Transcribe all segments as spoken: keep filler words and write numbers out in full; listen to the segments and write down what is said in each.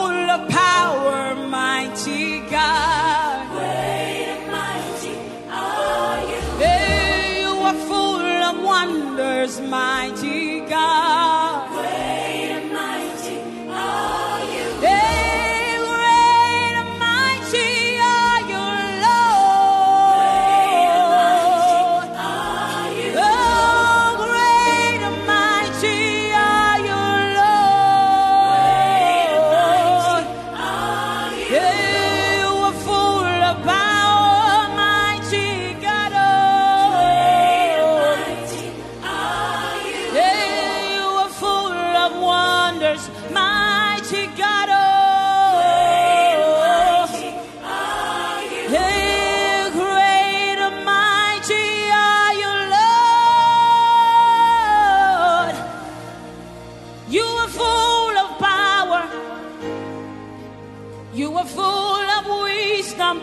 full of power, mighty God. Great and mighty are you. Hey, you are full of wonders, mighty God. Great and mighty are you. Hey, great and mighty are you, Lord. Are you. Oh, great and mighty are you, Lord. Are you. Hey, you are full of power, mighty God. Mighty are you. Hey, you are full of wonders, mighty God. Mighty are you. Hey, great and mighty are you, Lord. You are full of power. You are full of wisdom.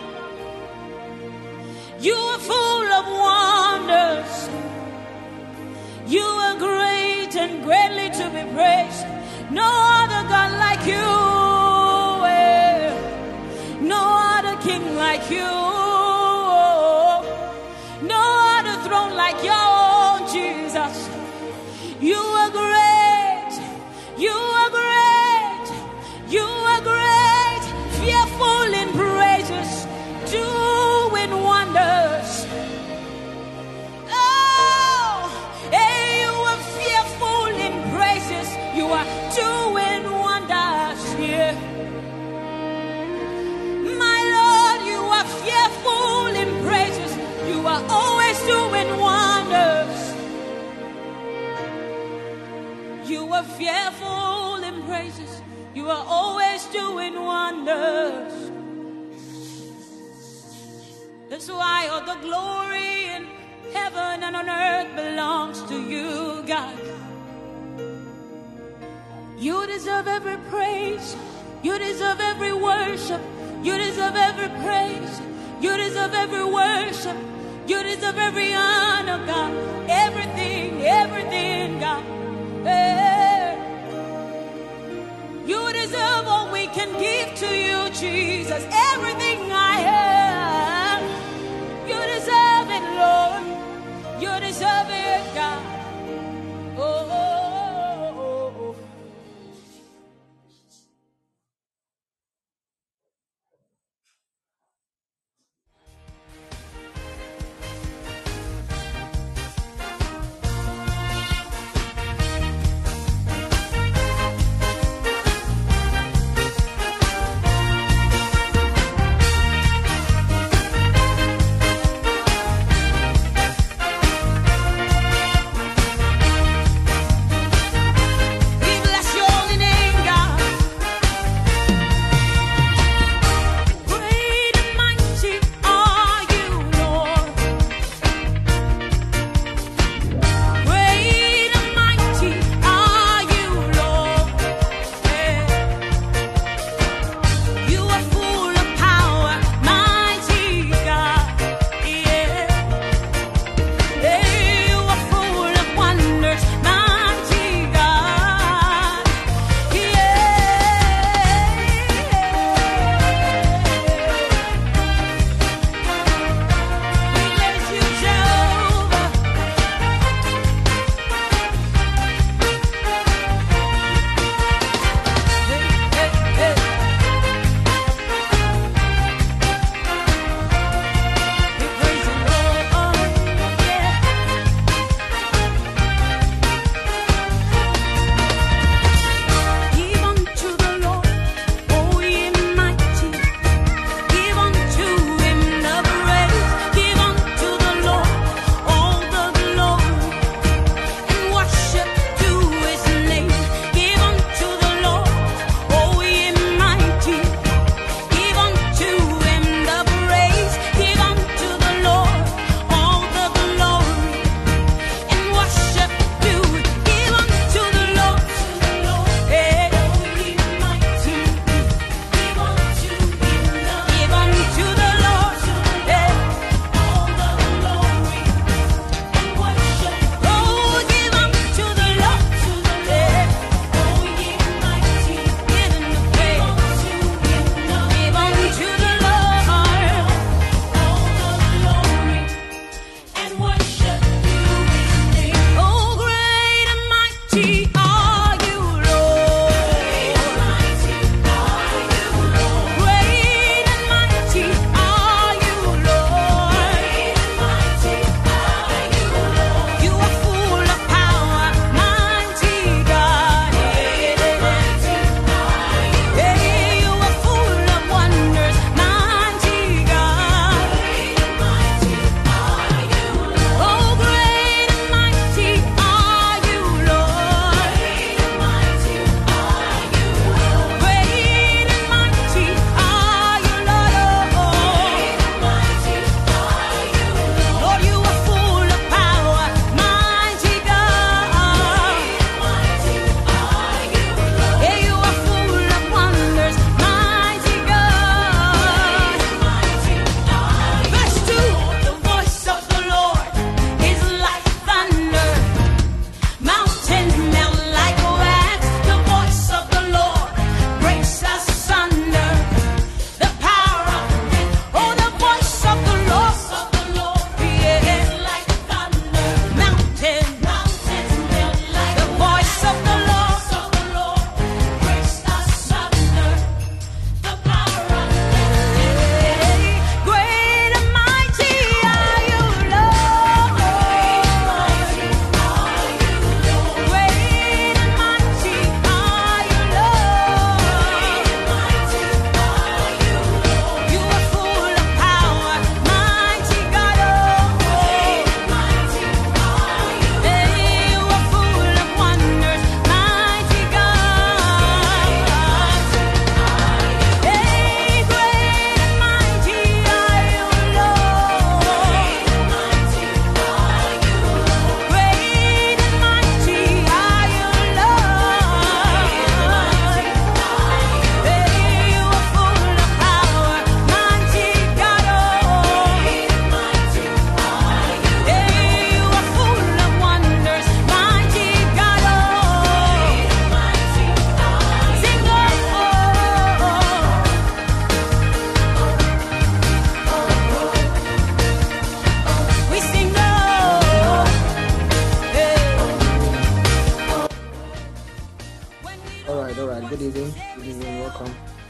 You are full of wonders. You are great and greatly to be praised. No other God like you. eh. No other king like you. No other throne like your own, Jesus. You are great. You are great. You are great. Fearful in praises. Doing wonders. Oh, hey, you are fearful in praises. You are doing wonders here. My Lord, you are fearful in praises. You are always doing wonders. You are fearful in praises. You are always doing wonders. That's why all the glory in heaven and on earth belongs to you, God. You deserve every praise. You deserve every worship. You deserve every praise. You deserve every worship. You deserve every honor, God. Everything, everything, God. Hey. You deserve all we can give to you, Jesus. Everything I have. You deserve it, Lord. You deserve it, God. Oh, oh, oh, oh.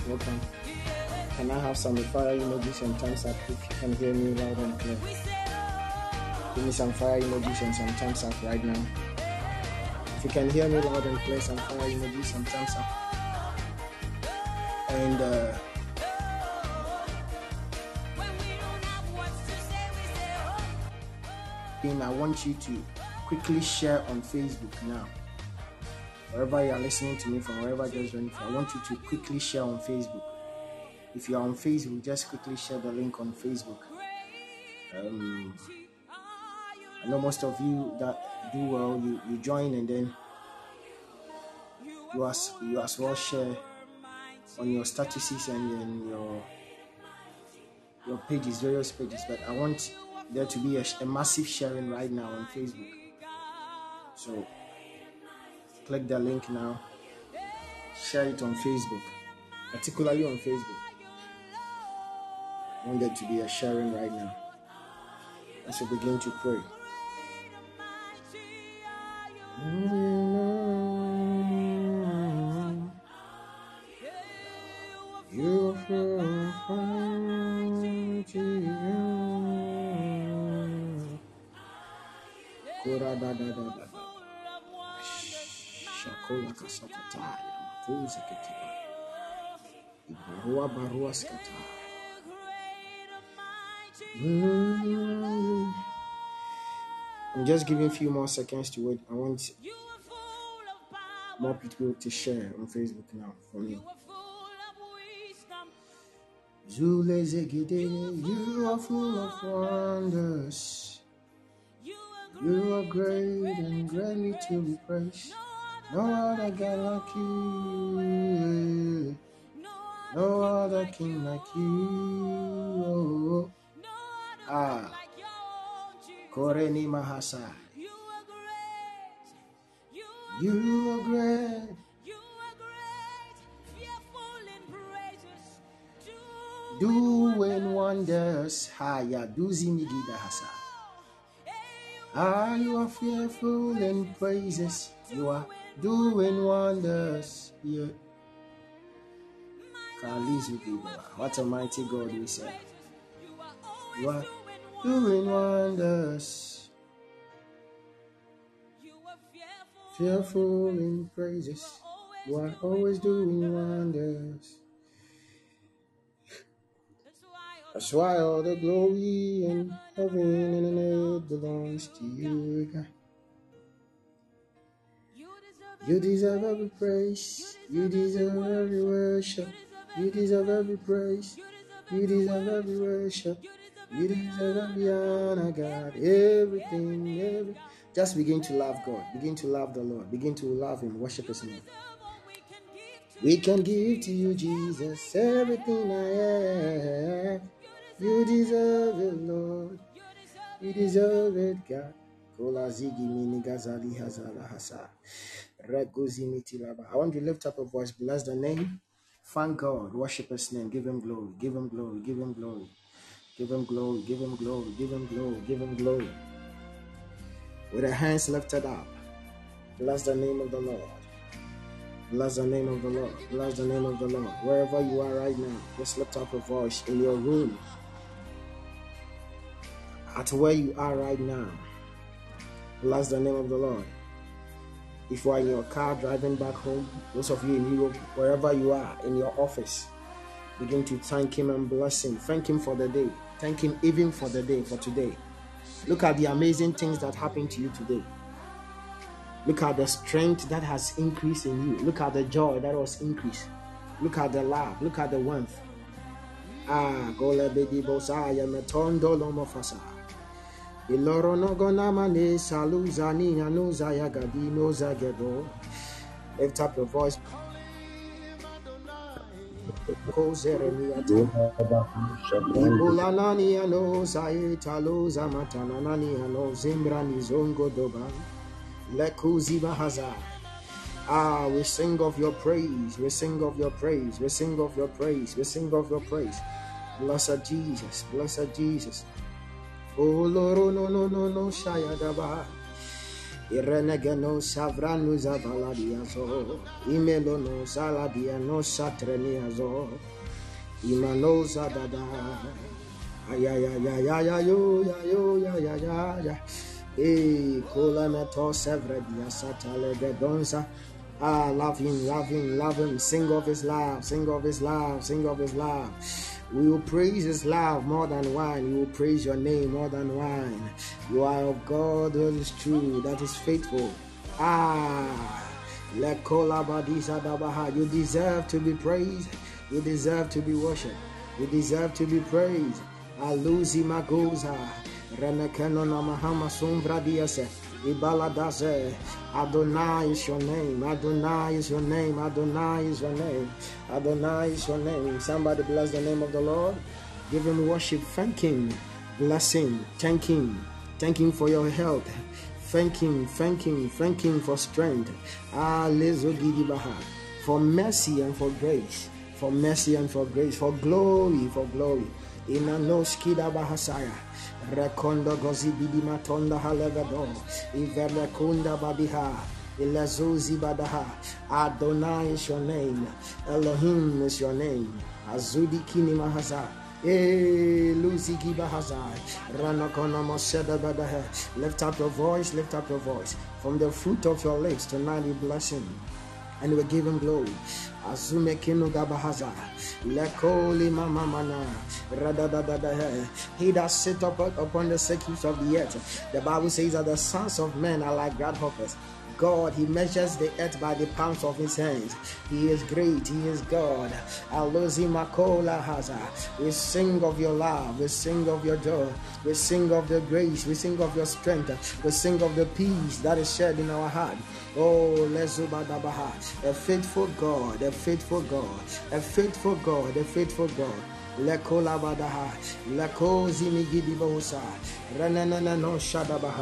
welcome. Can I have some fire emojis and thumbs up if you can hear me loud and clear? Give me some fire emojis and some thumbs up right now. If you can hear me loud and clear, some fire emojis, some thumbs up. And uh, I want you to quickly share on Facebook now. Wherever you are listening to me from, wherever you're joining from, I want you to quickly share on Facebook. If you are on Facebook, just quickly share the link on Facebook. Um, I know most of you that do well, you, you join and then you as you as well share on your statuses and then your your pages, various pages. But I want there to be a, a massive sharing right now on Facebook. So click the link now, share it on Facebook, particularly on Facebook. I want there to be a sharing right now as we begin to pray. You feel fine to you. Kura da da da da. Shakola kasakata. Mafuza ketiba. Ibarua barua skata. I'm just giving a few more seconds to wait. I want more people to share on Facebook now for me. Zule zegede, you are full of wonders. You are great and greatly to be praised. No other God like you. No other king like you. Ah, Koreni Mahasa. You are great. Doing wonders. Haya duzi migida hasa. Ah, you are fearful in praises. You are doing wonders. Yeah. What a mighty God we serve. You are doing wonders. Fearful in praises. You are always doing wonders. That's why all the glory in heaven and earth belongs to you, God. You deserve every praise. You deserve every worship. You deserve every praise. You deserve every worship. You deserve every honor, God. Everything, every. Just begin to love God. Begin to love the Lord. Begin to love Him. Worship His name. We can give to you, Jesus, everything I have. You deserve it, Lord. You deserve it, God. I want to lift up a voice, bless the name, thank God, worship His name, give Him glory, give Him glory, give Him glory, give Him glory, give Him glory, give Him glory, give Him glory. With the hands lifted up, bless the name of the Lord. Bless the name of the Lord. Bless the name of the Lord. Wherever you are right now, just lift up a voice in your room. At where you are right now, bless the name of the Lord. If you are in your car driving back home, those of you in Europe, wherever you are, in your office, begin to thank Him and bless Him. Thank Him for the day. Thank Him even for the day, for today. Look at the amazing things that happened to you today. Look at the strength that has increased in you. Look at the joy that was increased. Look at the love. Look at the warmth. Ah, gole bedi bosaya metondo lomofasa. Iloro no gonamane saluzani anuza yagadi no zagebo. Lift up your voice. Kozeremiata. Ibulanani ano zaita loza matanani ano zimbrani zongo doba. Ah, we sing of your praise, we sing of your praise, we sing of your praise, we sing of your praise. Blessed Jesus, blessed Jesus. Oh Lord, no, no, no, no, Shayadaba. Irenegeno savranu zavaladiazo. Imelono saladiano satreniazo. Imano zadada. Ayayayayayayyo, yayo, yayayaya. Eh, Kolameto Sevredia Satalegedonza. Ah, love him, love him, love him. Sing of his love, sing of his love, sing of his love. We will praise his love more than wine. We will praise your name more than wine. You are of God that is true, that is faithful. Ah, you deserve to be praised. You deserve to be worshipped. You deserve to be praised. Aluzi magoza. Renekeno namahama sombra diase. Ibaladaze. Adonai is your name. Adonai is your name. Adonai is your name. Adonai is your name. Somebody bless the name of the Lord. Give him worship. Thank him. Bless him. Thank him. Thank him for your health. Thank him. Thank him. Thank him for strength. Ah, lezo gidibaha. For mercy and for grace. For mercy and for grace. For glory. For glory. Inanoskida bahasaya. Rekondo gozi bidimatonda halevado. Iverekunda babiha. Ilazuzi badaha. Adonai is your name. Elohim is your name. Azudi kini mahaza. Eh, Luziki bahazai. Ranakona moseda badaha. Lift up your voice, lift up your voice. From the fruit of your lips tonight we bless him. And we give him glory. Azume kinu gabahaza. Lekoli mama mana. Radadadadahe. He that sit up upon the circuits of the earth. The Bible says that the sons of men are like grasshoppers. God, he measures the earth by the palms of his hands. He is great, he is God. Alozi makola haza. We sing of your love, we sing of your joy, we sing of the grace, we sing of your strength, we sing of the peace that is shed in our heart. Oh, lezubadabaha. A faithful God, a faithful God, a faithful God, a faithful God. Lekola badaha, lekozi migidibosa, renanana no shadabaha.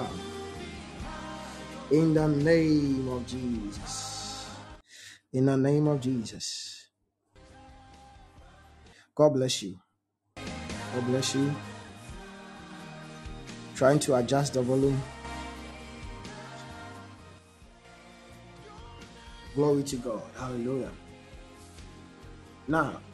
In the name of Jesus. In the name of Jesus. God bless you. God bless you. Trying to adjust the volume. Glory to God. Hallelujah. Now,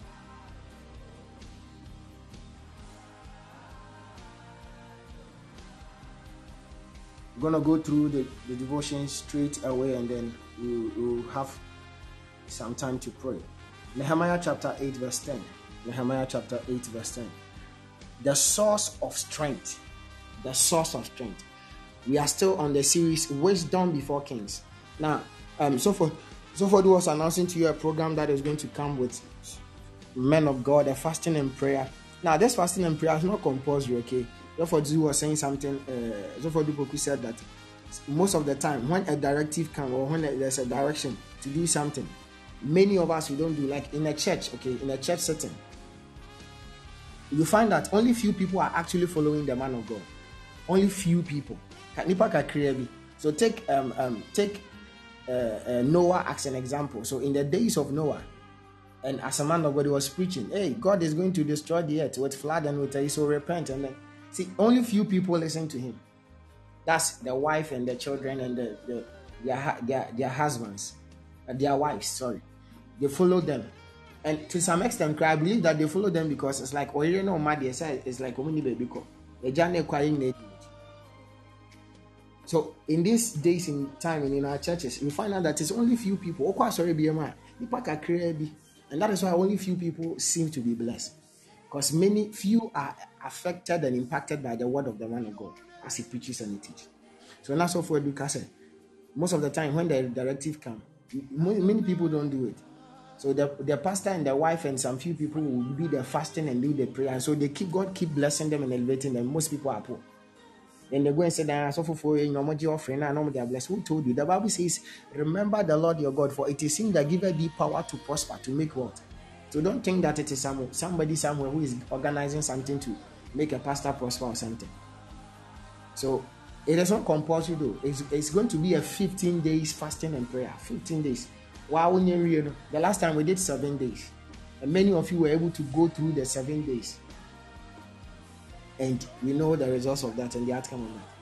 we're going to go through the, the devotion straight away, and then we'll, we'll have some time to pray. Nehemiah chapter eight verse ten. Nehemiah chapter eight verse ten. The source of strength. The source of strength. We are still on the series Wisdom Before Kings. Now, um, so for so for was announcing to you a program that is going to come with men of God, a fasting and prayer. Now, this fasting and prayer is not compulsory, okay? Therefore, Zu was saying something. Uh, Therefore, Dupoku said that most of the time, when a directive comes or when there's a direction to do something, many of us we don't do. Like in a church, okay, in a church setting, you find that only few people are actually following the man of God. Only few people. So take um um take uh, uh, Noah as an example. So in the days of Noah, and as a man of God, he was preaching, "Hey, God is going to destroy the earth with flood and with a so repent." And then see, only few people listen to him. That's the wife and the children and the, the their, their their husbands, uh, their wives. Sorry, they follow them, and to some extent, I believe that they follow them because it's like, oh, you know, my dear, it's like baby the journey crying. So in these days in time and in our churches, we find out that it's only few people. Oh, sorry, B M I, and that is why only few people seem to be blessed. Because many few are affected and impacted by the word of the man of God as he preaches and he teaches. So that's all for education. Most of the time when the directive comes, many people don't do it. So the, the pastor and the wife and some few people will be the fasting and do the prayer. And so they keep God keep blessing them and elevating them. Most people are poor. Then they go and say that so for you know your offering and they are blessed. Who told you? The Bible says, remember the Lord your God, for it is him that giveth thee power to prosper, to make wealth. So don't think that it is some, somebody somewhere who is organizing something to make a pastor prosper or something. So it is not compulsory though. It's, it's going to be a fifteen days fasting and prayer. fifteen days. Wow, the last time we did seven days. And many of you were able to go through the seven days. And we know the results of that and the outcome of that.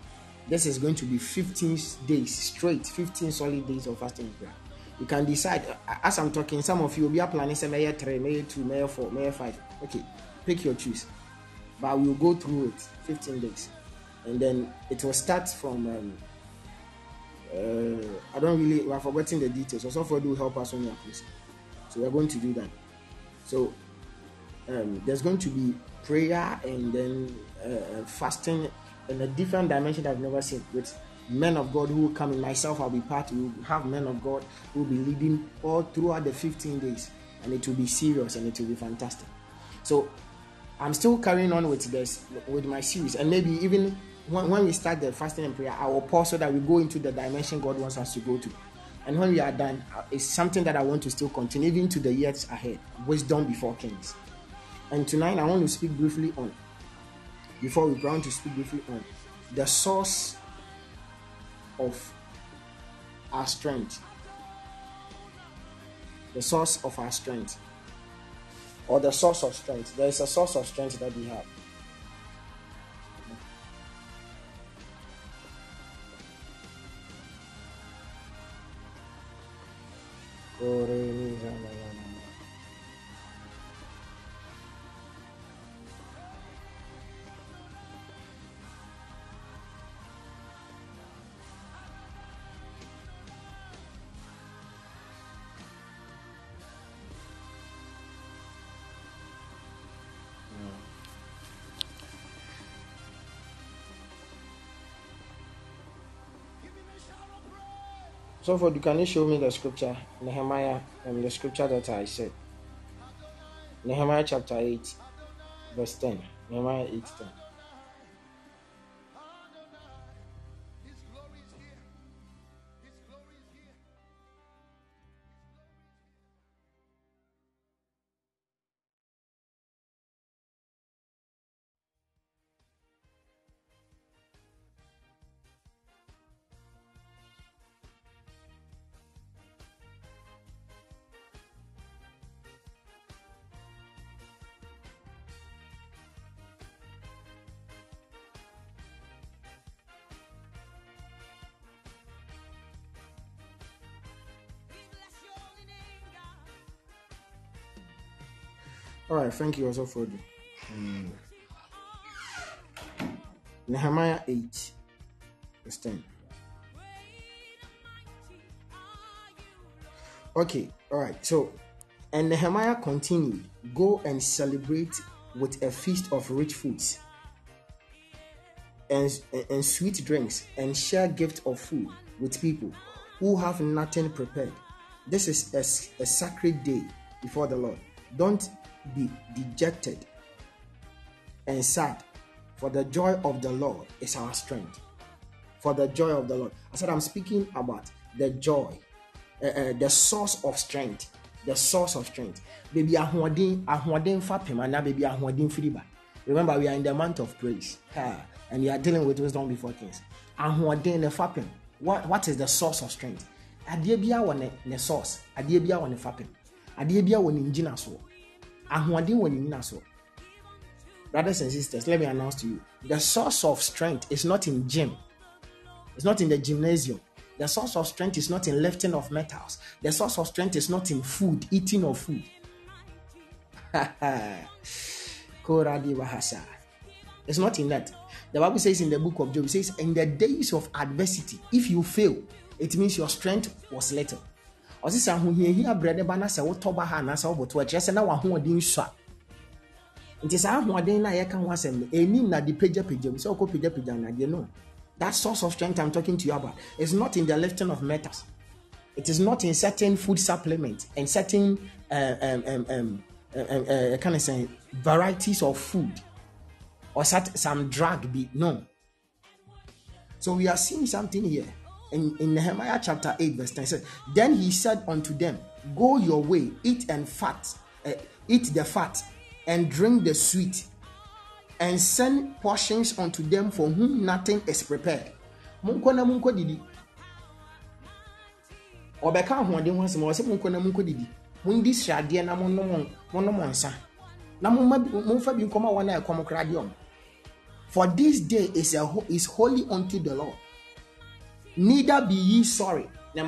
this is going to be fifteen days straight, fifteen solid days of fasting and prayer. You can decide, as I'm talking, some of you will be planning, say, may three, may two, may four, may five. Okay, pick your choice. But we'll go through it, fifteen days. And then it will start from, um, uh, I don't really, we are forgetting the details. So, so far, do help us on your place. So, we're going to do that. So, um, there's going to be prayer and then uh, fasting in a different dimension that I've never seen, with men of God who will come in. Myself, I'll be part. We will have men of God who will be leading all throughout the fifteen days, and it will be serious and it will be fantastic. So I'm still carrying on with this, with my series, and maybe even when, when we start the fasting and prayer, I will pause so that we go into the dimension God wants us to go to. And when we are done, it's something that I want to still continue even to the years ahead. Wisdom before kings. And tonight I want to speak briefly on, before we go on to speak briefly on the source of our strength. The source of our strength. Or the source of strength. There is a source of strength that we have. So, for can you show me the scripture, Nehemiah, and the scripture that I said? Nehemiah chapter eight, verse ten. Nehemiah eight, ten. All right, thank you also for the um, Nehemiah eight, verse ten. Okay, all right. So, and Nehemiah continued, "Go and celebrate with a feast of rich foods and, and sweet drinks, and share gift of food with people who have nothing prepared. This is a, a sacred day before the Lord. Don't be dejected and sad, for the joy of the Lord is our strength." For the joy of the Lord. I said I'm speaking about the joy, uh, uh, the source of strength, the source of strength. Baby ahoɔden ahoɔden fapem na baby ahoɔden firiba. Remember, we are in the month of praise, uh, and we are dealing with wisdom before kings. Ahoɔden ne fapem. What what is the source of strength? Adeɛ bia wɔ ne ne source. Adeɛ bia wɔ ne fapem. Adeɛ bia wɔ ne ngina so. Ahoɔden wɔ ne ngina so. Brothers and sisters, let me announce to you, the source of strength is not in gym. It's not in the gymnasium. The source of strength is not in lifting of metals. The source of strength is not in food, eating of food. It's not in that. The Bible says in the book of Job, it says, in the days of adversity, if you fail, it means your strength was little. Osisa hu hia hia brede ba na se wo toba ha na se wo boto a kire se na wa ho odin so a. Nti sa ho odin na ye ka ho asem enim na di pagya pagya se okọ pagya pagya na de no. That source of strength I'm talking to you about is not in the lifting of metals. It is not in certain food supplements and certain uh, um um um uh, uh, kind of say varieties of food or some drug be no. So we are seeing something here. In, in Nehemiah chapter eight, verse ten, said, "Then he said unto them, Go your way, eat and fat, uh, eat the fat, and drink the sweet, and send portions unto them for whom nothing is prepared." Munko na munko didi. Obeka ahoɔden ho asɛm ɔsɛ munko na munko didi. Mundi hradeɛ na monnom monnom nsa. Na momma momfa bi nkɔma wɔn a ɛkɔm kra de ɔm. For this day is a is holy unto the Lord. Neither be ye sorry.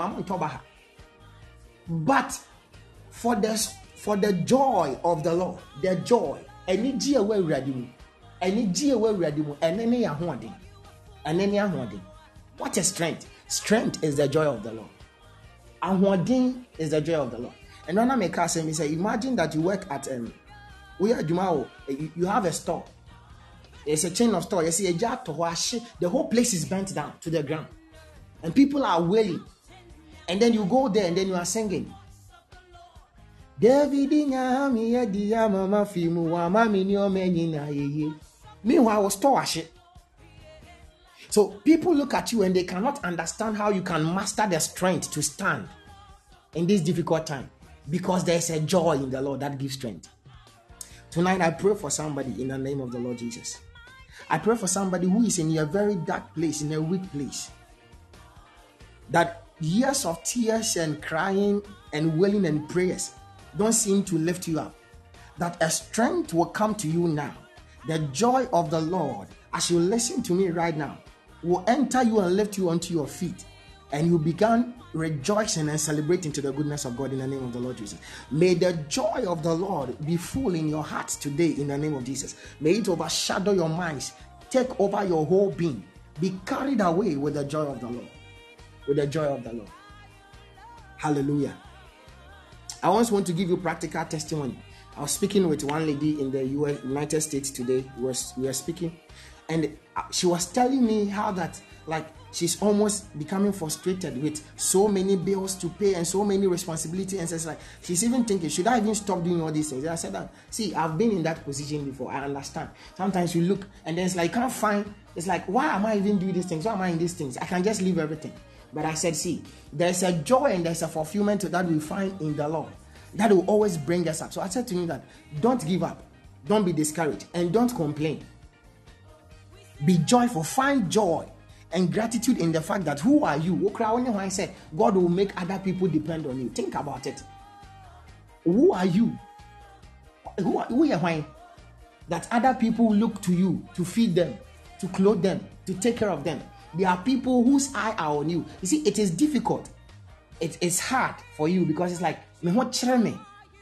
But for the for the joy of the Lord, the joy, any joy we ready, any joy we ready, and any ahoɔden, and any ahoɔden. What is strength? Strength is the joy of the Lord. Ahoɔden is the joy of the Lord. And when I make us say, imagine that you work at um, we are Jumao, you, you have a store. It's a chain of store. You see a jar to wash. The whole place is bent down to the ground, and people are wailing. And then you go there and then you are singing. Meanwhile, I was store. So people look at you and they cannot understand how you can master the strength to stand in this difficult time, because there is a joy in the Lord that gives strength. Tonight I pray for somebody in the name of the Lord Jesus. I pray for somebody who is in a very dark place, in a weak place, that years of tears and crying and wailing and prayers don't seem to lift you up, that a strength will come to you now. The joy of the Lord, as you listen to me right now, will enter you and lift you onto your feet, and you begin rejoicing and celebrating to the goodness of God in the name of the Lord Jesus. May the joy of the Lord be full in your heart today in the name of Jesus. May it overshadow your minds, take over your whole being. Be carried away with the joy of the Lord. With the joy of the Lord. Hallelujah. I once want to give you practical testimony. I was speaking with one lady in the U S, United States today. We were, we were speaking, and she was telling me how that, like, she's almost becoming frustrated with so many bills to pay and so many responsibilities. And it's like, she's even thinking, should I even stop doing all these things? And I said, that, see, I've been in that position before. I understand. Sometimes you look and then it's like, can't find, it's like, why am I even doing these things? Why am I in these things? I can just leave everything. But I said, see, there's a joy and there's a fulfillment that we find in the Lord that will always bring us up. So I said to him that, don't give up, don't be discouraged, and don't complain. Be joyful, find joy and gratitude in the fact that who are you? I said, God will make other people depend on you. Think about it. Who are you? Who are, who are you? That other people look to you to feed them, to clothe them, to take care of them. There are people whose eye are on you. You see, it is difficult. It is hard for you because it's like, me what me.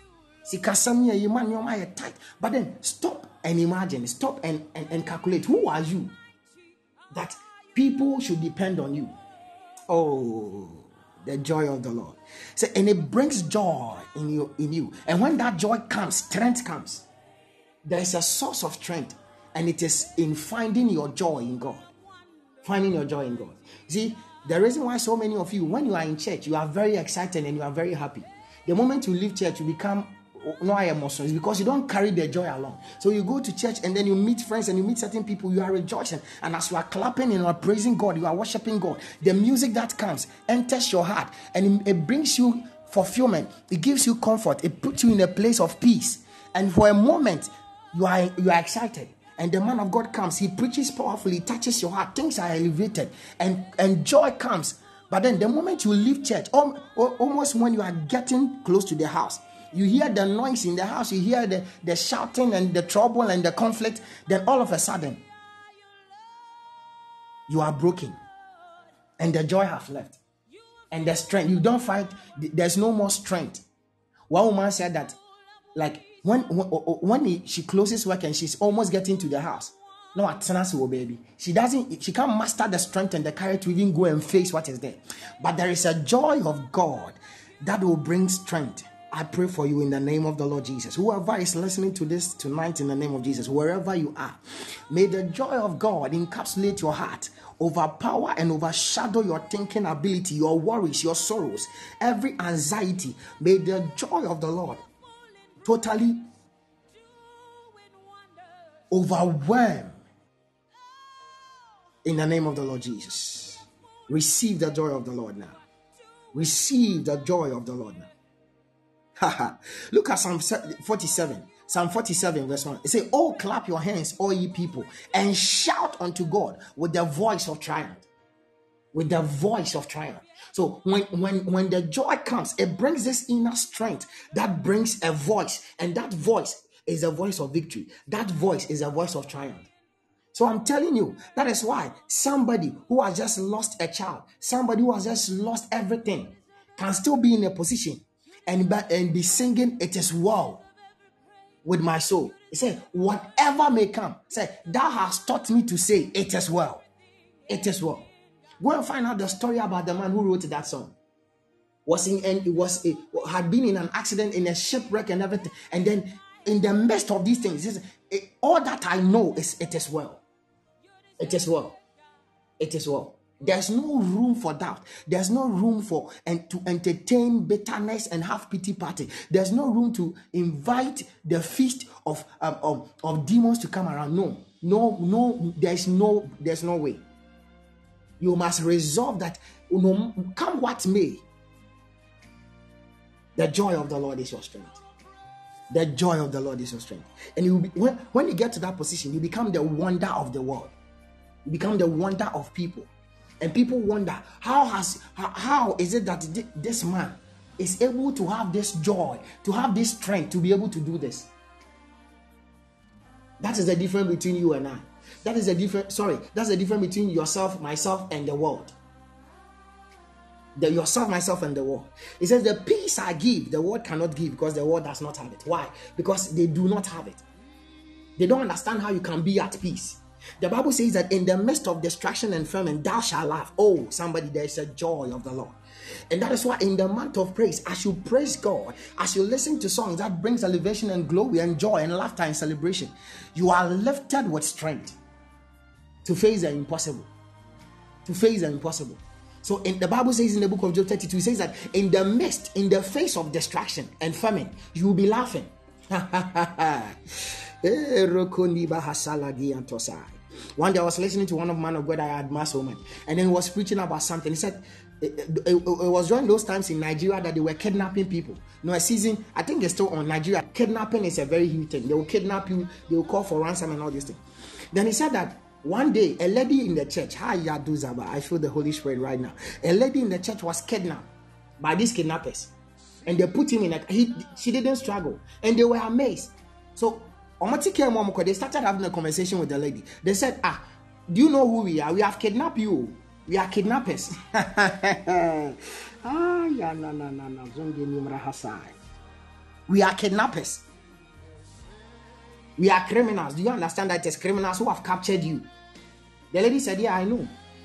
But then stop and imagine, stop and, and, and calculate. Who are you that people should depend on you? Oh, the joy of the Lord. So, and it brings joy in you, in you. And when that joy comes, strength comes. There is a source of strength, and it is in finding your joy in God. Finding your joy in God. See, the reason why so many of you, when you are in church, you are very excited and you are very happy. The moment you leave church, you become no emotions because you don't carry the joy along. So you go to church and then you meet friends and you meet certain people, you are rejoicing. And as you are clapping and you are praising God, you are worshiping God, the music that comes enters your heart and it brings you fulfillment. It gives you comfort. It puts you in a place of peace. And for a moment, you are, you are excited. And the man of God comes, he preaches powerfully, touches your heart, things are elevated, and, and joy comes. But then the moment you leave church, almost when you are getting close to the house, you hear the noise in the house, you hear the, the shouting and the trouble and the conflict, then all of a sudden, you are broken. And the joy has left. And the strength, you don't find, there's no more strength. One woman said that, like, when when, when he, she closes work and she's almost getting to the house, no, baby, she doesn't, she can't master the strength and the courage to even go and face what is there. But there is a joy of God that will bring strength. I pray for you in the name of the Lord Jesus. Whoever is listening to this tonight in the name of Jesus, wherever you are, may the joy of God encapsulate your heart, overpower and overshadow your thinking ability, your worries, your sorrows, every anxiety. May the joy of the Lord totally overwhelm in the name of the Lord Jesus. Receive the joy of the Lord now. Receive the joy of the Lord now. Look at Psalm forty-seven. Psalm forty-seven verse one. It says, oh, clap your hands, all ye people, and shout unto God with the voice of triumph. With the voice of triumph. So when, when, when the joy comes, it brings this inner strength that brings a voice. And that voice is a voice of victory. That voice is a voice of triumph. So I'm telling you, that is why somebody who has just lost a child, somebody who has just lost everything, can still be in a position and, and be singing, "It is well with my soul." He said, whatever may come, say, "Thou hast taught me to say, it is well. It is well." Go and find out the story about the man who wrote that song. Was in and it was a, had been in an accident, in a shipwreck and everything. And then in the midst of these things, he says, all that I know is it is well. It is well. It is well. There's no room for doubt. There's no room for and to entertain bitterness and have pity party. There's no room to invite the feast of um, of, of demons to come around. No, no, no. There's no. There's no way. You must resolve that. You know, come what may. The joy of the Lord is your strength. The joy of the Lord is your strength. And you will be, when when you get to that position, you become the wonder of the world. You become the wonder of people. And people wonder, how has how, how is it that this man is able to have this joy, to have this strength, to be able to do this? That is the difference between you and I. That is the difference. Sorry, that's the difference between yourself, myself, and the world. The yourself, myself, and the world. It says, the peace I give, the world cannot give, because the world does not have it. Why? Because they do not have it. They don't understand how you can be at peace. The Bible says that in the midst of distraction and famine, thou shalt laugh. Oh, somebody, there is a joy of the Lord. And that is why in the month of praise, as you praise God, as you listen to songs that brings elevation and glory and joy and laughter and celebration, you are lifted with strength to face the impossible. To face the impossible. So in the Bible says in the book of Job thirty-two, it says that in the midst, in the face of distraction and famine, you will be laughing. One day I was listening to one of man of God I admire so much, and then he was preaching about something. He said it, it, it, it was during those times in Nigeria that they were kidnapping people. No, a season, I think it's still on Nigeria. Kidnapping is a very huge thing. They will kidnap you, they will call for ransom and all these things. Then he said that one day a lady in the church, I feel the Holy Spirit right now. A lady in the church was kidnapped by these kidnappers, and they put him in a. He, she didn't struggle, and they were amazed. So they started having a conversation with the lady. They said, "Ah, do you know who we are? We have kidnapped you. We are kidnappers." Ah, yeah, no, no, no, no. We are kidnappers. We are criminals. Do you understand that it's criminals who have captured you? The lady said, "Yeah, I know."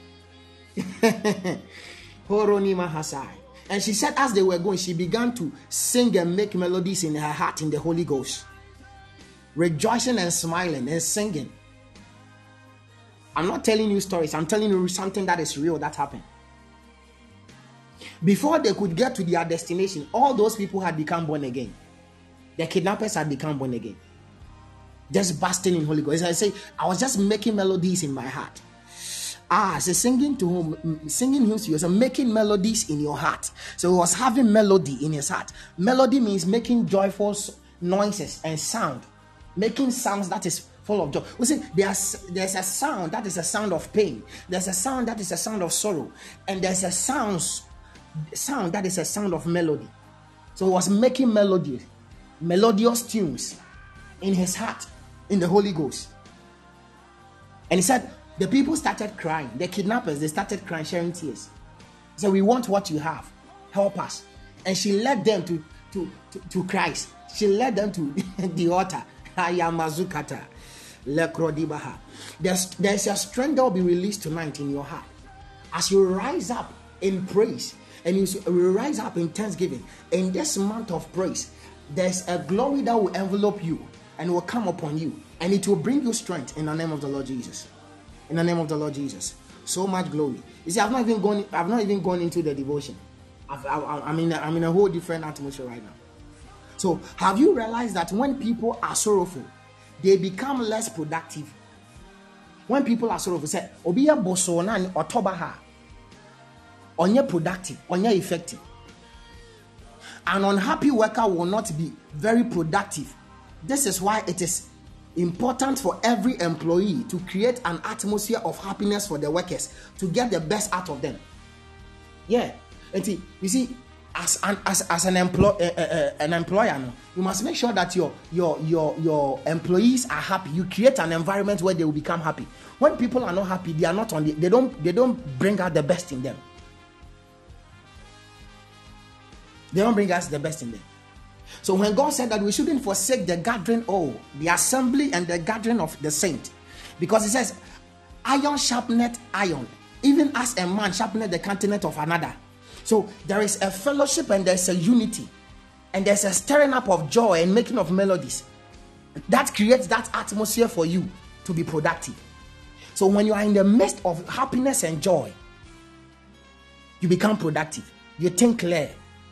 And she said, as they were going, she began to sing and make melodies in her heart in the Holy Ghost, rejoicing and smiling and singing. I'm not telling you stories. I'm telling you something that is real that happened. Before they could get to their destination, all those people had become born again. The kidnappers had become born again. Just basking in Holy Ghost. I say, I was just making melodies in my heart. Ah, so singing to him, singing hymns to yourself, making melodies in your heart. So he was having melody in his heart. Melody means making joyful noises and sound, making sounds that is full of joy. We see, there's there's a sound that is a sound of pain. There's a sound that is a sound of sorrow, and there's a sound sound that is a sound of melody. So he was making melodies, melodious tunes in his heart, in the Holy Ghost. And he said, the people started crying. The kidnappers, they started crying, sharing tears. So we want what you have. Help us. And she led them to, to, to, to Christ. She led them to the altar. There's, there's a strength that will be released tonight in your heart. As you rise up in praise and you rise up in thanksgiving, in this month of praise, there's a glory that will envelop you and will come upon you. And it will bring you strength in the name of the Lord Jesus. In the name of the Lord Jesus. So much glory. You see, I've not even gone. I've not even gone into the devotion. I've, I, I'm in. A, I'm in a whole different atmosphere right now. So, have you realized that when people are sorrowful, they become less productive? When people are sorrowful, say, "Obiya bosona ni otobaha." Onye productive, onye effective. An unhappy worker will not be very productive. This is why it is important for every employee to create an atmosphere of happiness for the workers, to get the best out of them. Yeah. And see, you see, as an as, as an employ uh, uh, uh, an employer, no, you must make sure that your your your your employees are happy. You create an environment where they will become happy. When people are not happy, they are not on the, they don't they don't bring out the best in them. They don't bring us the best in them. So when God said that we shouldn't forsake the gathering, oh, the assembly and the gathering of the saint, because He says, iron sharpeneth iron, even as a man sharpeneth the countenance of another. So there is a fellowship and there's a unity, and there's a stirring up of joy and making of melodies that creates that atmosphere for you to be productive. So when you are in the midst of happiness and joy, you become productive. You think clear.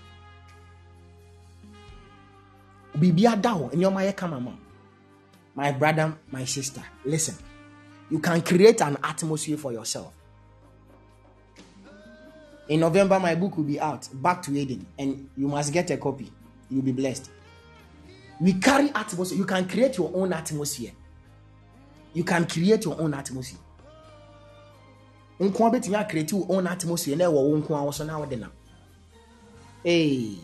My brother, my sister, listen. You can create an atmosphere for yourself. In November, my book will be out, Back to Eden, and you must get a copy. You'll be blessed. We carry atmosphere. You can create your own atmosphere. You can create your own atmosphere. You can create your own atmosphere. Hey.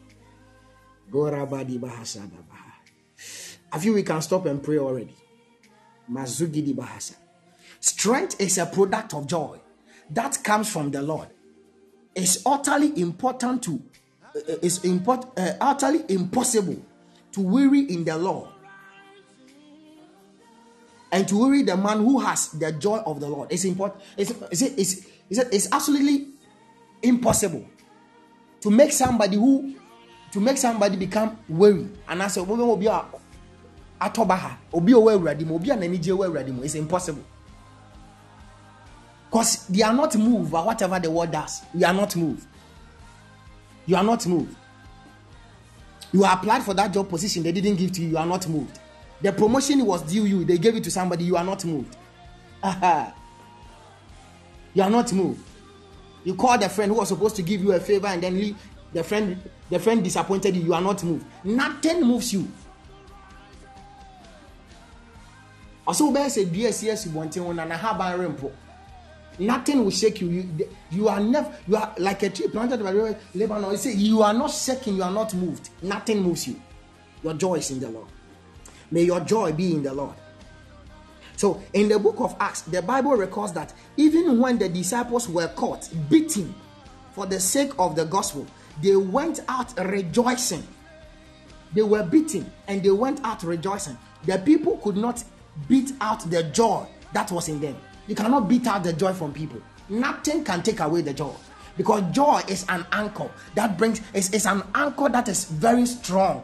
I feel we can stop and pray already. Mazugidi Bahasa. Strength is a product of joy that comes from the Lord. It's utterly important to, uh, it's import, uh, utterly impossible to weary in the Lord and to weary the man who has the joy of the Lord. It's important. It's, it's, it's, it's, it's absolutely impossible to make somebody who to make somebody become weary. And I say, it's impossible. Because they are not moved by whatever the word does. You are not moved. You are not moved. You applied for that job position, they didn't give to you. You are not moved. The promotion was due you, they gave it to somebody. You are not moved. You are not moved. You called a friend who was supposed to give you a favor, and then he, the friend the friend disappointed you. You are not moved. Nothing moves you. Also, bear said, B S yes, you want to and I have a rimpo. Nothing will shake you. You, you are never, you are like a tree planted by the Lebanon. You say you are not shaking, you are not moved. Nothing moves you. Your joy is in the Lord. May your joy be in the Lord. So, in the book of Acts, the Bible records that even when the disciples were caught, beaten for the sake of the gospel, they went out rejoicing. They were beaten and they went out rejoicing. The people could not beat out the joy that was in them. You cannot beat out the joy from people. Nothing can take away the joy, because joy is an anchor that brings, it's, it's an anchor that is very strong.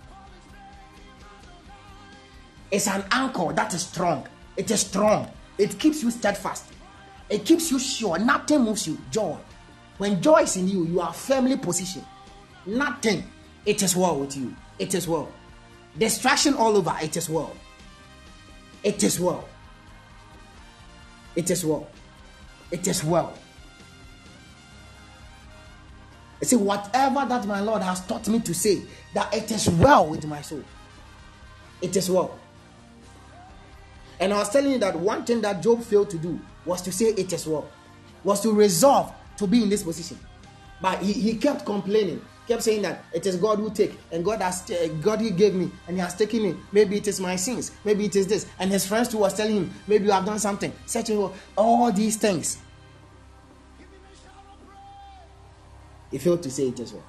It's an anchor that is strong. It is strong. It keeps you steadfast. It keeps you sure. Nothing moves you. Joy. When joy is in you, you are firmly positioned. Nothing. It is well with you. It is well. Distraction all over. It is well. It is well. It is well. It is well. I say, whatever that my Lord has taught me to say, that it is well with my soul. It is well. And I was telling you that one thing that Job failed to do was to say it is well, was to resolve to be in this position. But he, he kept complaining, kept saying that it is God who take, and God has uh, God he gave me, and he has taken me. Maybe it is my sins, maybe it is this. And his friends too was telling him, maybe you have done something, searching all these things. He failed to say it as well.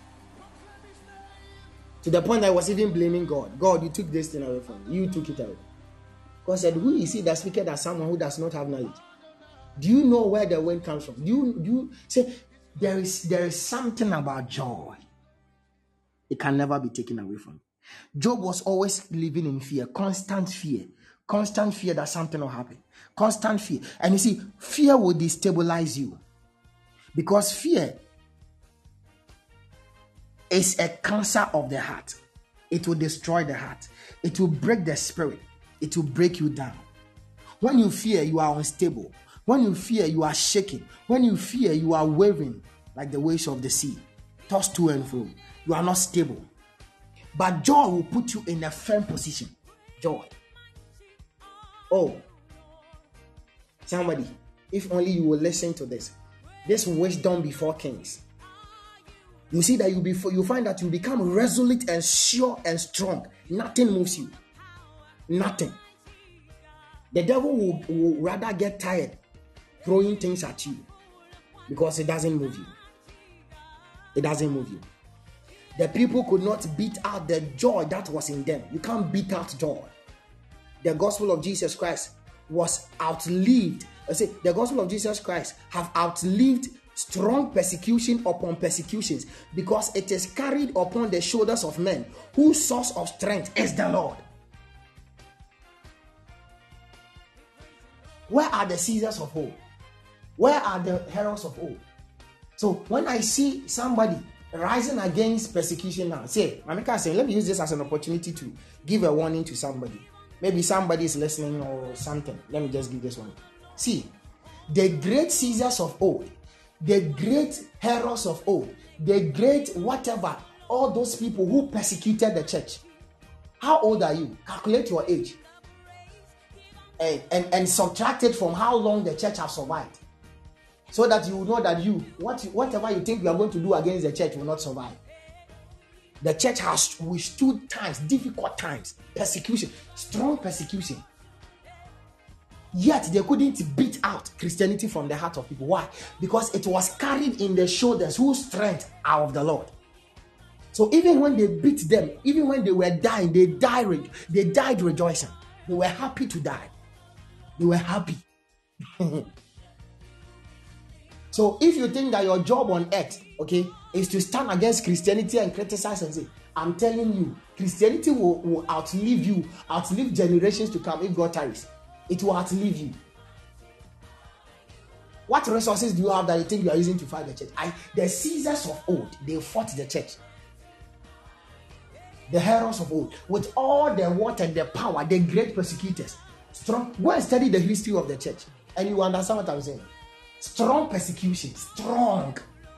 To the point that I was even blaming God. God, you took this thing away from me. You took it away. God said, who is he that speaketh as someone who does not have knowledge? Do you know where the wind comes from? Do you, do you say there is there is something about joy? It can never be taken away from you. Job was always living in fear, constant fear, constant fear that something will happen, constant fear. And you see, fear will destabilize you, because fear is a cancer of the heart. It will destroy the heart. It will break the spirit. It will break you down. When you fear, you are unstable. When you fear, you are shaking. When you fear, you are wavering like the waves of the sea, tossed to and fro. You are not stable. But joy will put you in a firm position. Joy. Oh, somebody, if only you will listen to this. This wisdom before kings. You see that you be you find that you become resolute and sure and strong. Nothing moves you. Nothing. The devil will, will rather get tired throwing things at you because it doesn't move you. It doesn't move you. The people could not beat out the joy that was in them. You can't beat out joy. The gospel of Jesus Christ was outlived. I say the gospel of Jesus Christ have outlived strong persecution upon persecutions because it is carried upon the shoulders of men whose source of strength is the Lord. Where are the Caesars of old? Where are the heroes of old? So when I see somebody rising against persecution now, say, Mamika say, let me use this as an opportunity to give a warning to somebody. Maybe somebody is listening or something. Let me just give this one. See, the great Caesars of old, the great heroes of old, the great whatever, all those people who persecuted the church. How old are you? Calculate your age. And, and, and subtract it from how long the church has survived. So that you will know that you, what, whatever you think you are going to do against the church will not survive. The church has withstood times, difficult times, persecution, strong persecution. Yet they couldn't beat out Christianity from the heart of people. Why? Because it was carried in the shoulders whose strength are of the Lord. So even when they beat them, even when they were dying, they died, they died rejoicing. They were happy to die. They were happy. So if you think that your job on earth, okay, is to stand against Christianity and criticize and say, I'm telling you, Christianity will, will outlive you, outlive generations to come if God tarries. It will outlive you. What resources do you have that you think you are using to fight the church? I, the Caesars of old, they fought the church. The heroes of old, with all the what and the power, the great persecutors. Strong. Go and study the history of the church, and you understand what I'm saying. Strong persecution, strong.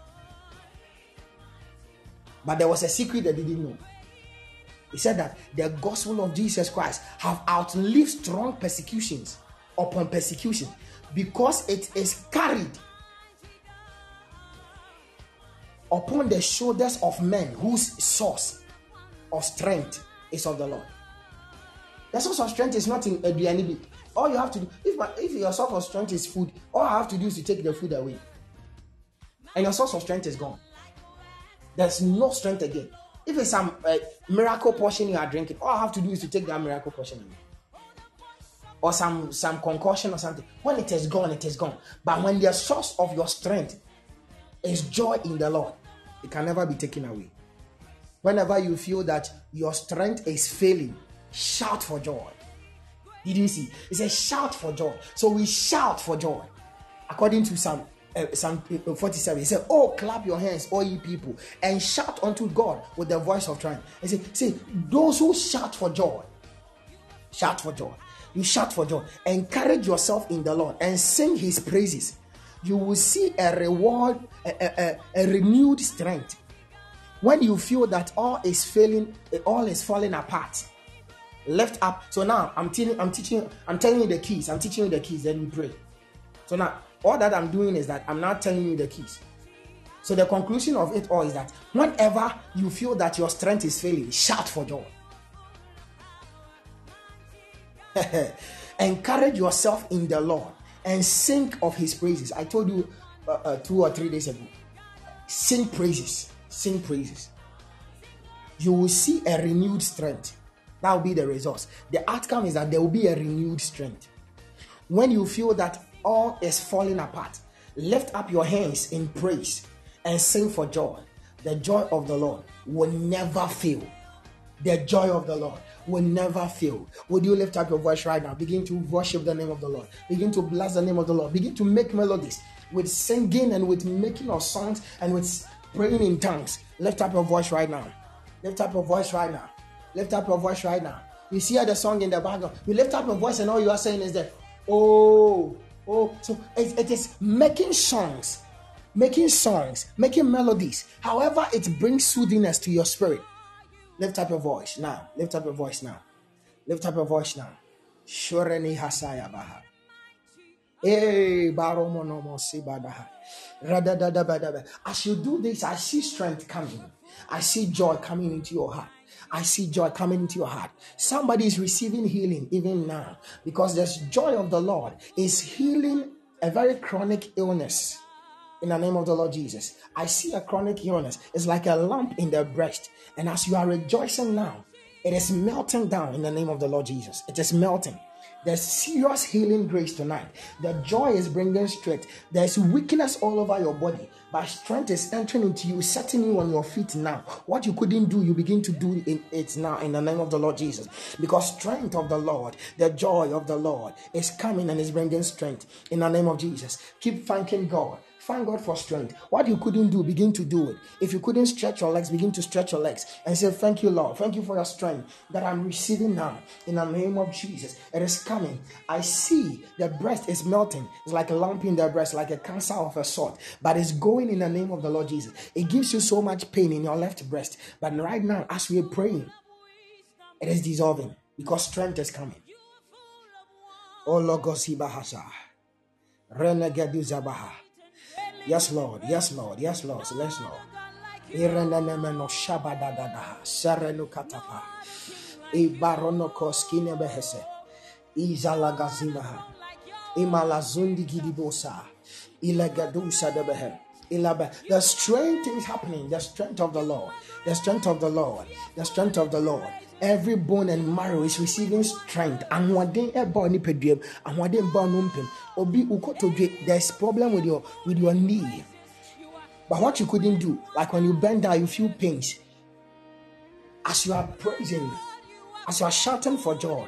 But there was a secret they didn't know. He said that the gospel of Jesus Christ have outlived strong persecutions upon persecution because it is carried upon the shoulders of men whose source of strength is of the Lord. The source of strength is not in a D N A. All you have to do, if, my, if your source of strength is food, all I have to do is to take the food away. And your source of strength is gone. There's no strength again. If it's some uh, miracle portion you are drinking, all I have to do is to take that miracle portion away. Or some, some concoction or something. When it is gone, it is gone. But when the source of your strength is joy in the Lord, it can never be taken away. Whenever you feel that your strength is failing, shout for joy. Did you see? It says shout for joy. So we shout for joy. According to Psalm, uh, Psalm forty-seven, he said, oh, clap your hands, all ye people, and shout unto God with the voice of triumph. He said, see, those who shout for joy, shout for joy. You shout for joy. Encourage yourself in the Lord and sing his praises. You will see a reward, a, a, a, a renewed strength. When you feel that all is failing, all is falling apart, lift up. So now I'm teaching, I'm teaching, I'm telling you the keys. I'm teaching you the keys. Then you pray. So now all that I'm doing is that I'm not telling you the keys. So the conclusion of it all is that whenever you feel that your strength is failing, shout for joy. Encourage yourself in the Lord and sing of his praises. I told you uh, uh, two or three days ago. Sing praises. Sing praises. You will see a renewed strength. That will be the results. The outcome is that there will be a renewed strength. When you feel that all is falling apart, lift up your hands in praise and sing for joy. The joy of the Lord will never fail. The joy of the Lord will never fail. Would you lift up your voice right now? Begin to worship the name of the Lord. Begin to bless the name of the Lord. Begin to make melodies with singing and with making of songs and with praying in tongues. Lift up your voice right now. Lift up your voice right now. Lift up your voice right now. You see the song in the background. You lift up your voice and all you are saying is that, oh, oh. So it, it is making songs, making songs, making melodies. However, it brings soothingness to your spirit. Lift up your voice now. Lift up your voice now. Lift up your voice now. Shoreni hasaya baha. Eh, baromonomo sibadaha. Radadadabadaba. As you do this, I see strength coming. I see joy coming into your heart. I see joy coming into your heart. Somebody is receiving healing even now because there's joy of the Lord is healing a very chronic illness. In the name of the Lord Jesus, I see a chronic illness. It's like a lump in the breast. And as you are rejoicing now, it is melting down in the name of the Lord Jesus. It is melting. There's serious healing grace tonight. The joy is bringing strength. There's weakness all over your body, but strength is entering into you, setting you on your feet now. What you couldn't do, you begin to do in it now in the name of the Lord Jesus. Because strength of the Lord, the joy of the Lord is coming and is bringing strength in the name of Jesus. Keep thanking God. Thank God for strength. What you couldn't do, begin to do it. If you couldn't stretch your legs, begin to stretch your legs and say, thank you, Lord. Thank you for your strength that I'm receiving now. In the name of Jesus, it is coming. I see the breast is melting. It's like a lump in the breast, like a cancer of a sort. But it's going in the name of the Lord Jesus. It gives you so much pain in your left breast. But right now, as we are praying, it is dissolving because strength is coming. Oh, Logosibahasa. Renegaduzabaha. Yes, Lord. Yes, Lord. Yes, Lord. Yes, Lord. Irenenemeno shabadadada. Serenu katapa. Ibarono koskine behese. Izalagazimaha. Imalazundi gidibosa. Ilegadusa debehe. The strength is happening. The strength of the Lord. The strength of the Lord. The strength of the Lord. Every bone and marrow is receiving strength. And one day, and one day, Obi ukotoje. There's problem with your with your knee. But what you couldn't do, like when you bend down, you feel pains. As you are praising, as you are shouting for joy,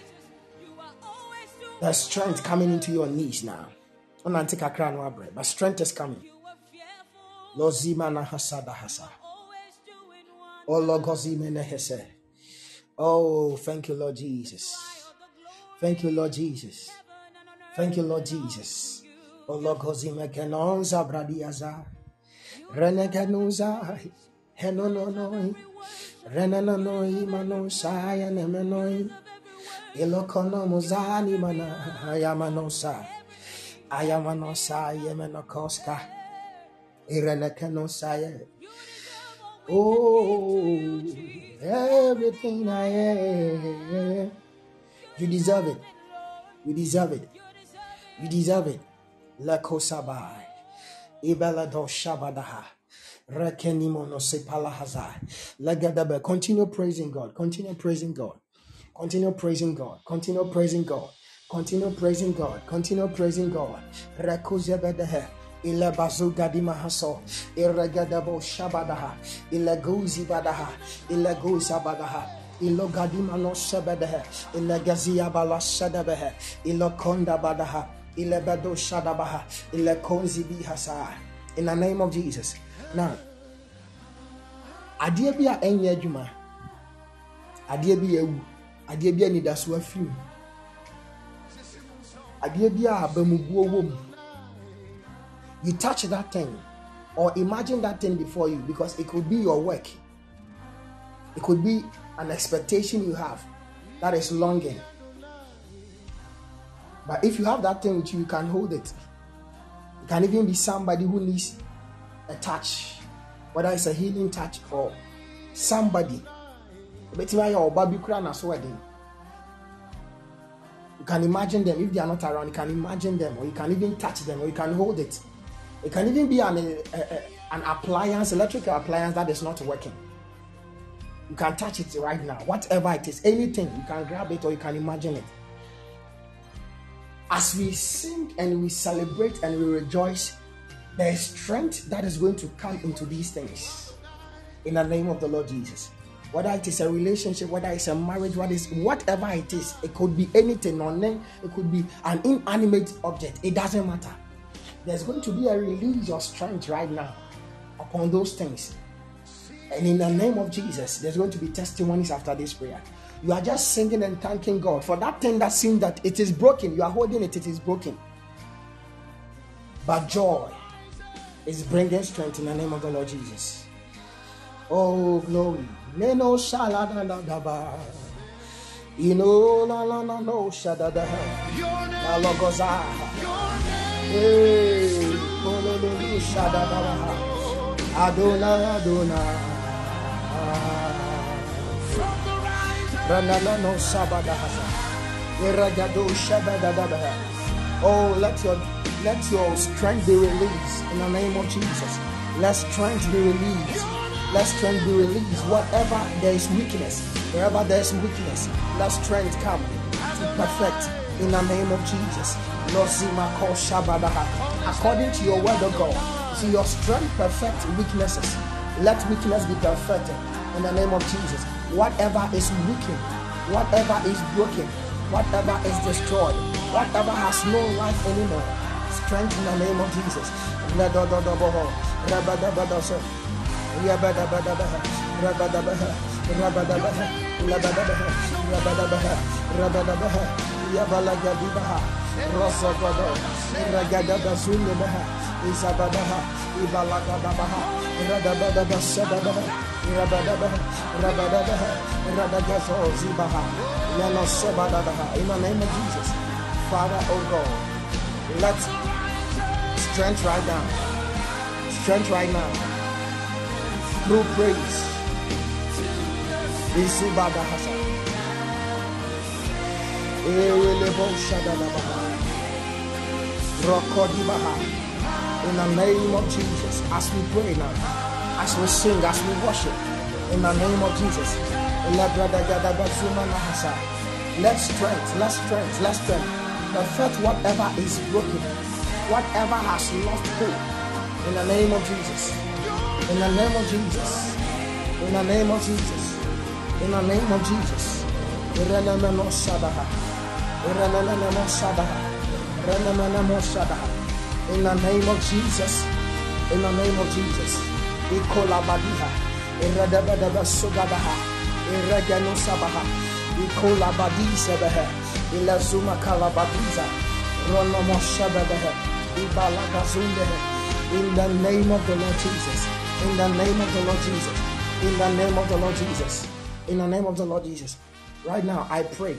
there's strength coming into your knees now. But strength is coming. Lozimana hasada hasa. Oh logozimene hese. Oh, thank you, Lord Jesus. Thank you, Lord Jesus. Thank you, Lord Jesus. Oh, logozime kenonza bradiaza. Reneganuza. Henononoi. Renanonoi manosaya nemenoi. Ilokonomuzani mana. Ayamanosa. Ayamanosa yemenokoska. Irenekenosaya. Oh, everything I am. You deserve it. You deserve it. You deserve it. Lakosabai. Ibelado Shabadaha. Rekenimono Sepalahaza. Lagadabe. Continue praising God. Continue praising God. Continue praising God. Continue praising God. Continue praising God. Continue praising God. Rekozebedehe. Ila bazuga di mahaso, irregadabo shabadaha, ila guzi badaha, ila guza badaha, ilo gadima no shabadehe, ila gazia bala shadabehe, ilo konda badaha, ila bado shadabaha, ila konzi bihasa. In the name of Jesus. Now, adiabia enye juma, adiabia ewu, adiabia nidaswa fiu, adiabia abemubuo wom. You touch that thing or imagine that thing before you because it could be your work. It could be an expectation you have that is longing. But if you have that thing with you, you can hold it. It can even be somebody who needs a touch, whether it's a healing touch or somebody. You can imagine them. If they are not around, you can imagine them, or you can even touch them, or you can hold it. It can even be an, a, a, an appliance, electrical appliance that is not working. You can touch it right now. Whatever it is, anything, you can grab it or you can imagine it. As we sing and we celebrate and we rejoice, there is strength that is going to come into these things. In the name of the Lord Jesus. Whether it is a relationship, whether it's a marriage, what is whatever it is, it could be anything, or it could be an inanimate object. It doesn't matter. There's going to be a release of strength right now upon those things. And in the name of Jesus, there's going to be testimonies after this prayer. You are just singing and thanking God for that thing that seems that it is broken. You are holding it, it is broken. But joy is bringing strength in the name of the Lord Jesus. Oh, glory. Neno shaladadaba. You know, la la la no shadada. La logoza. Hey, pololo shadada. Adona Adona. Ranala no sabada. Iragado shabada. Oh, let your let your strength be released in the name of Jesus. Let strength be released. Let strength be released. Whatever there is weakness, wherever there is weakness, let strength come to perfect in the name of Jesus. According to your word of God, see your strength perfect weaknesses. Let weakness be perfected in the name of Jesus. Whatever is weakened, whatever is broken, whatever is destroyed, whatever has no life anymore, strength in the name of Jesus. Rabadabadabaha, Rabadabaha, Rabadabaha, Rabadabaha, Rabadabaha, Rabadabaha, Yabalagadibaha, Rosagado, Ragadabazundabaha, Isabadaha, Ibalagadabaha, Radabadabaha, Sadabaha, Rabadabaha, Rabadabaha, Radagazo, Zibaha, Leno Sebadabaha, in the name of Jesus. Father, oh God, let strength right now, strength right now. Through praise, Isibada Hasa, Elebo Shadadabaha, Rokodibaha. In the name of Jesus, as we pray now, as we sing, as we worship, in the name of Jesus, let strength, let strength, let strength perfect whatever is broken, whatever has lost hope. In the name of Jesus. In the name of Jesus. In the name of Jesus. In the name of Jesus. In the name of Shadaha. In the name of Shadaha. In the name of Shadaha. In the name of Jesus. In the name of Jesus. Ikola Badiha. Iradabadaba Sugadaha. Iragano Sabaha. Ikola Badisabaha. Ilazuma Kalabadiza. Ronomo Shabaha. Ibalagazundeha. In the name of the Lord Jesus. In the name of the Lord Jesus. In the name of the Lord Jesus. In the name of the Lord Jesus. Right now, I pray.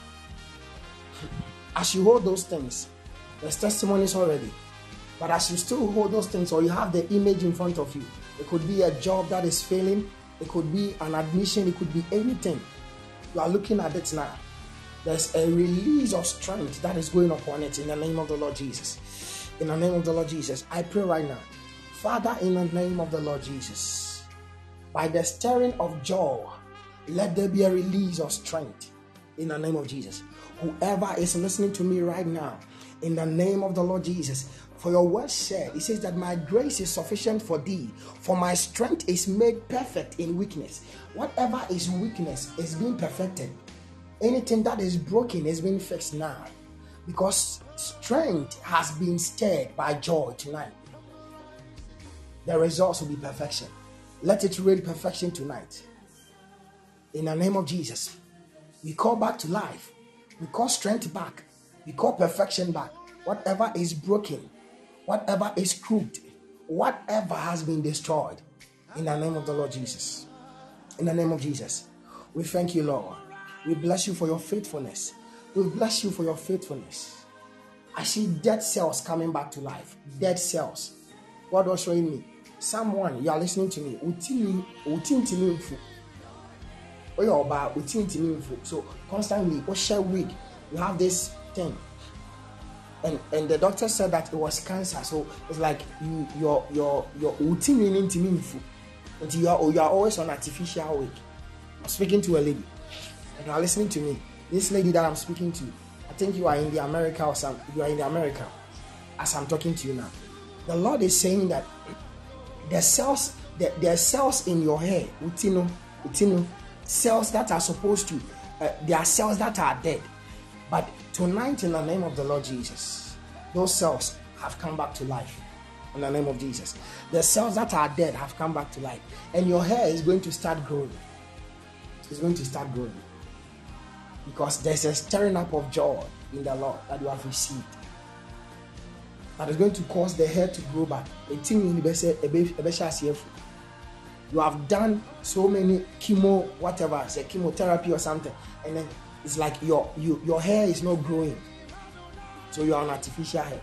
As you hold those things, there's testimonies already. But as you still hold those things, or you have the image in front of you, it could be a job that is failing. It could be an admission. It could be anything. You are looking at it now. There's a release of strength that is going upon it in the name of the Lord Jesus. In the name of the Lord Jesus, I pray right now. Father, in the name of the Lord Jesus, by the stirring of joy, let there be a release of strength in the name of Jesus. Whoever is listening to me right now, in the name of the Lord Jesus, for your word said, it says that my grace is sufficient for thee, for my strength is made perfect in weakness. Whatever is weakness is being perfected. Anything that is broken is being fixed now, because strength has been stirred by joy tonight. The results will be perfection. Let it reign perfection tonight. In the name of Jesus, we call back to life. We call strength back. We call perfection back. Whatever is broken, whatever is crooked, whatever has been destroyed, in the name of the Lord Jesus. In the name of Jesus, we thank you, Lord. We bless you for your faithfulness. We bless you for your faithfulness. I see dead cells coming back to life. Dead cells. God was showing me. Someone, you are listening to me. So constantly, we share wig. You have this thing. And and the doctor said that it was cancer. So it's like you your your your until you are you are always on artificial wig. I'm speaking to a lady. And you are listening to me. This lady that I'm speaking to, I think you are in the America or some you are in the America as I'm talking to you now. The Lord is saying that the cells, the, the cells in your hair, utino, utino, cells that are supposed to, uh, there are cells that are dead. But tonight, in the name of the Lord Jesus, those cells have come back to life. In the name of Jesus, the cells that are dead have come back to life, and your hair is going to start growing. It's going to start growing because there's a stirring up of joy in the Lord that you have received. That is going to cause the hair to grow back. You have done so many chemo, whatever, say chemotherapy or something, and then It's like your you, your hair is not growing, so you're on artificial hair.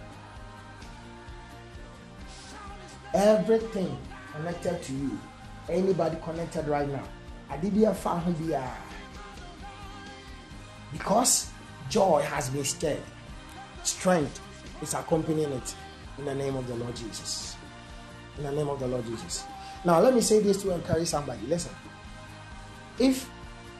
Everything connected to you, anybody connected right now, Adibia Fahubia, because joy has been stirred, strength is accompanying it in the name of the Lord Jesus. In the name of the Lord Jesus. Now, let me say this to encourage somebody. Listen, if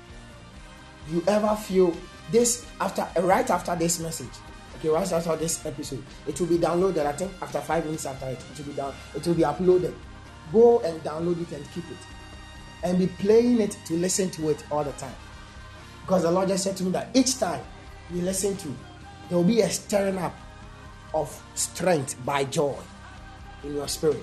you ever feel this after, right after this message, okay, right after this episode, it will be downloaded. I think after five minutes after it, it will be down, it will be uploaded. Go and download it and keep it, and be playing it to listen to it all the time. Because the Lord just said to me that each time you listen to, there will be a stirring up of strength by joy in your spirit.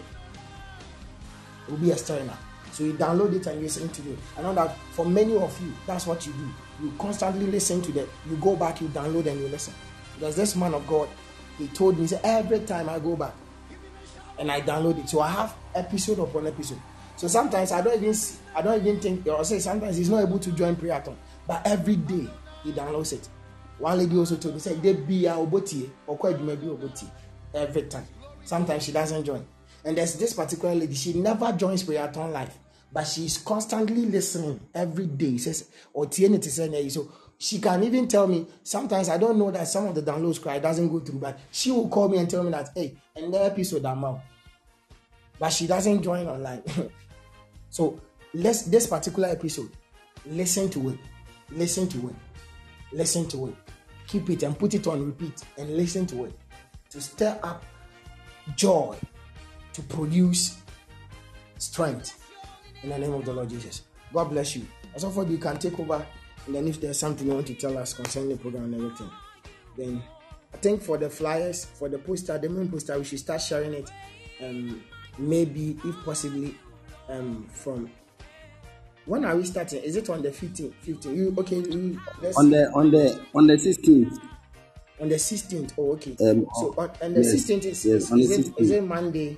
It will be a stirring up. So you download it and you listen to it. I know that for many of you, that's what you do. You constantly listen to that. You go back, you download and you listen. Because this man of God, he told me, he said, every time I go back and I download it, so I have episode upon episode. So sometimes I don't even, I don't even think, or say sometimes he's not able to join Prayathon, but every day he downloads it. One lady also told me, said, they be a oboti or quite maybe oboti every time. Sometimes she doesn't join. And there's this particular lady, she never joins Prayathon live, but she's constantly listening every day. Says, or so she can even tell me, sometimes I don't know that some of the downloads cry doesn't go through, but she will call me and tell me that, hey, and the episode I'm out. But she doesn't join online. So let's this particular episode, listen to it, listen to it, listen to it, keep it and put it on repeat and listen to it to stir up joy, to produce strength in the name of the Lord Jesus. God bless you. As of you can take over, and then if there's something you want to tell us concerning the program and everything, then I think for the flyers, for the poster, the main poster, we should start sharing it. Um, maybe if possibly, um, from when are we starting? Is it on the fifteenth? fifteenth? You okay? You, let's on the on the on the sixteenth. On the sixteenth. Oh, okay. Um, so on, and the yes, sixteenth is, yes, is, on is, the it, is it Monday?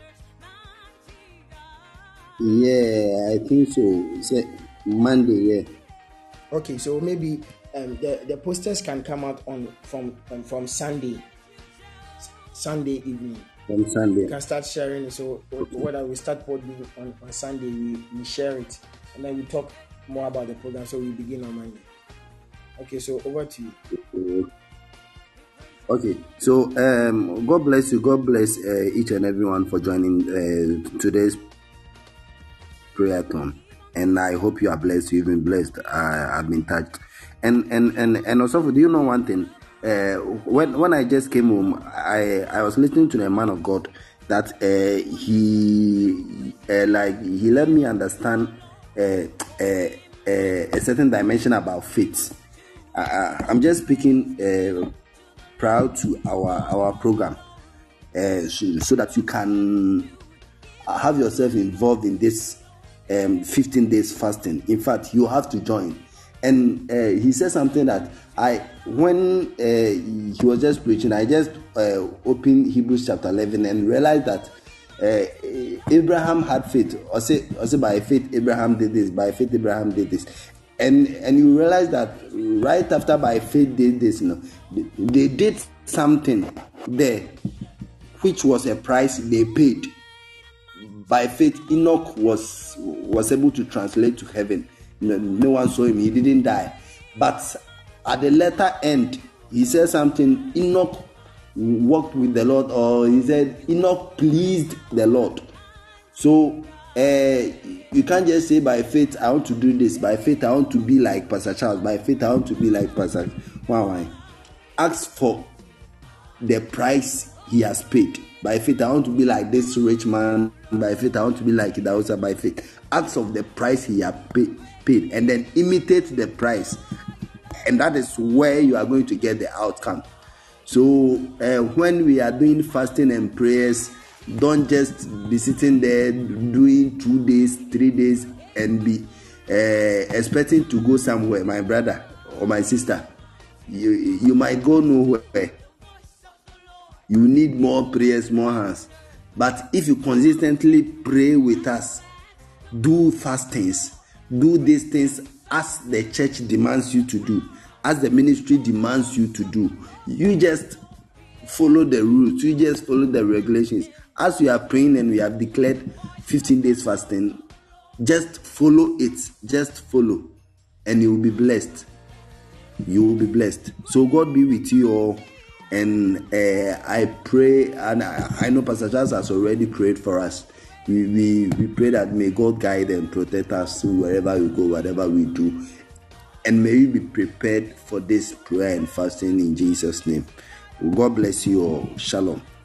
Yeah, I think so. It's a Monday. Yeah. Okay, so maybe um, the the posters can come out on from um, from Sunday, Sunday evening. From Sunday, we can start sharing it. So whether we start poding on, on Sunday, we, we share it, and then we talk more about the program. So we begin on Monday. Okay, so over to you. Okay, so um, God bless you. God bless uh, each and everyone for joining uh, today's Prayathon. And I hope you are blessed. You've been blessed. I, I've been touched. And and and and also, do you know one thing? Uh, when when I just came home, I I was listening to the man of God that uh, he uh, like he let me understand uh, uh, uh, a certain dimension about faith. Uh, I'm just speaking uh, proud to our our program, uh, so, so that you can have yourself involved in this. Um, fifteen days fasting. In fact, you have to join. And uh, he said something that I, when uh, he was just preaching, I just uh, opened Hebrews chapter eleven and realized that uh, Abraham had faith. Or say, or say by faith Abraham did this. By faith Abraham did this. And and you realize that right after by faith did this, you know, they did something there, which was a price they paid. By faith, Enoch was was able to translate to heaven. No, no one saw him; he didn't die. But at the latter end, he said something. Enoch walked with the Lord, or he said Enoch pleased the Lord. So uh, you can't just say by faith I want to do this. By faith I want to be like Pastor Charles. By faith I want to be like Pastor. Why? Why? Ask for the price he has paid. By faith, I want to be like this rich man. By faith, I want to be like Idausa. By faith, ask of the price he has pay, paid, and then imitate the price, and that is where you are going to get the outcome. So, uh, when we are doing fasting and prayers, don't just be sitting there doing two days, three days, and be uh, expecting to go somewhere, my brother or my sister. You you might go nowhere. You need more prayers, more hands. But if you consistently pray with us, do fastings, do these things as the church demands you to do, as the ministry demands you to do. You just follow the rules. You just follow the regulations. As we are praying and we have declared fifteen days fasting, just follow it. Just follow, and you will be blessed. You will be blessed. So God be with you all. And uh, I pray, and I, I know Pastor Charles has already prayed for us. We, we we pray that may God guide and protect us wherever we go, whatever we do. And may we be prepared for this prayer and fasting in Jesus' name. God bless you all. Shalom.